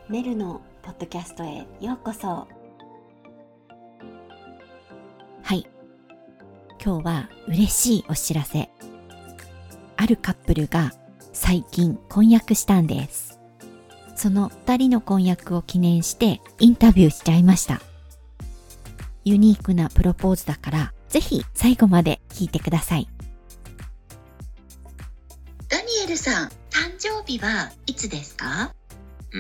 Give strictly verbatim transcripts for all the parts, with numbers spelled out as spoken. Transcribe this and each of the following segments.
メルのポッドキャストへようこそ。はい、今日は嬉しいお知らせ。あるカップルが最近婚約したんです。そのふたりの婚約を記念してインタビューしちゃいました。ユニークなプロポーズだからぜひ最後まで聞いてください。 ダニエルさん、誕生日はいつですか？ うん、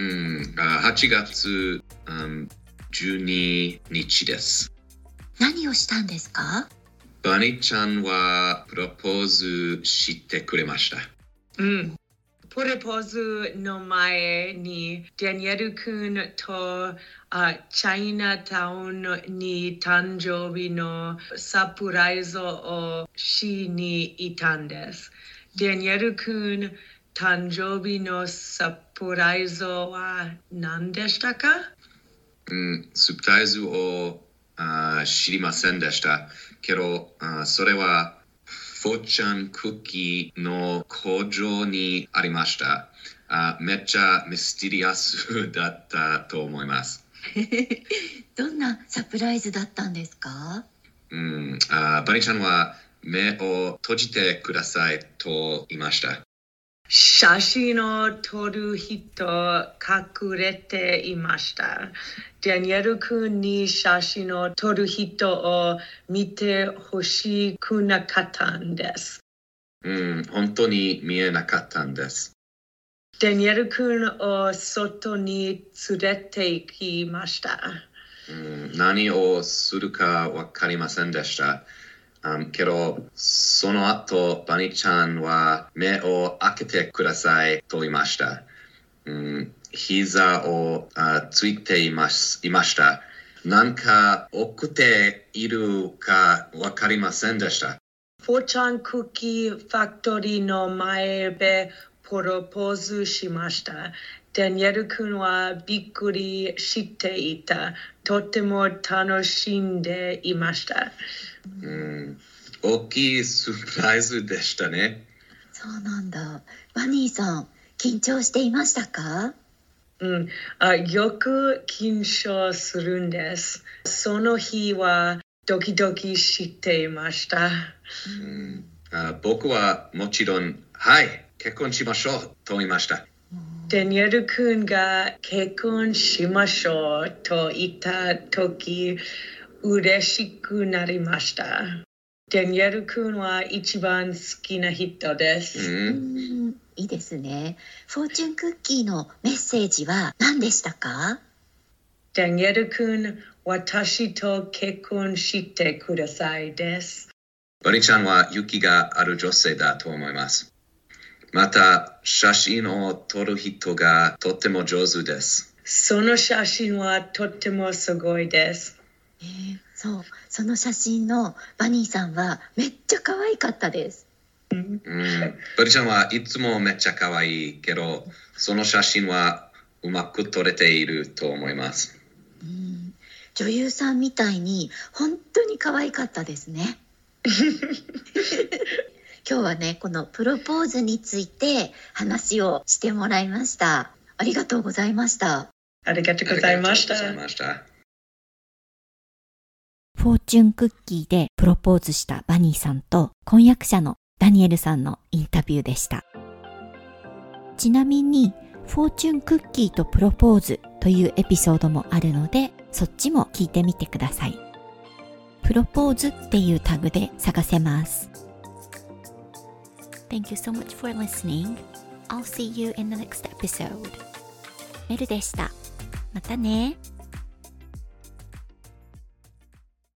はちがつ、うん、じゅうににちです。 何をしたんですか？ バニちゃんはプロポーズしてくれました。 うん。プロポーズの前にダニエル君とあチャイナタウンに誕生日のサプライズをしに行ったんです。ダニエル君、誕生日のサプライズは何でしたか？ うん、サプライズをあ知りませんでしたけど、あそれはフォーチャンクッキーの工場にありました。あめっちゃミステリアスだったと思います。 どんなサプライズだったんですか？ うん、あバニちゃんは目を閉じてくださいと言いました。 写真を撮る人隠れていました。ダニエル君に写真を撮る人を見てほしくなかったんです。 うん、本当に見えなかったんです。 ダニエル君を外に連れて行きました。 うん、何をするかわかりませんでした。Um, けど、その後、バニちゃんは目を開けてくださいと言いました。うん、膝をあついています、いました。なんか送っているかわかりませんでした。 フォーチャンクッキーファクトリーの前でプロポーズしました。ダニエル君はびっくりしていた。とても楽しんでいました。 うん、大きいサプライズでしたね。 そうなんだ。バニーさん、緊張していましたか？ うん、あよく緊張するんです。その日はドキドキしていました。 うん、あ僕はもちろん、はい、結婚しましょうと言いました。 ダニエル君が結婚しましょうと言ったとき、嬉しくなりました。ダニエル君は一番好きな人です。 うん、いいですね。フォーチュンクッキーのメッセージは何でしたか？ ダニエル君、私と結婚してくださいです。 バニちゃんは勇気がある女性だと思います。また、写真を撮る人がとっても上手です。 その写真はとってもすごいです。 えー、そう、その写真のバニーさんはめっちゃ可愛かったです。 うん、 バニちゃんはいつもめっちゃ可愛いけど、その写真はうまく撮れていると思います。 うん、女優さんみたいに本当に可愛かったですね。今日はね、このプロポーズについて話をしてもらいました。ありがとうございました。 ありがとうございました。 ありがとうございました。 フォーチュンクッキーでプロポーズしたバニーさんと婚約者のダニエルさんのインタビューでした。ちなみにフォーチュンクッキーとプロポーズというエピソードもあるので、そっちも聞いてみてください。プロポーズっていうタグで探せます。Thank you so much for listening. I'll see you in the next episode. メルでした。またね。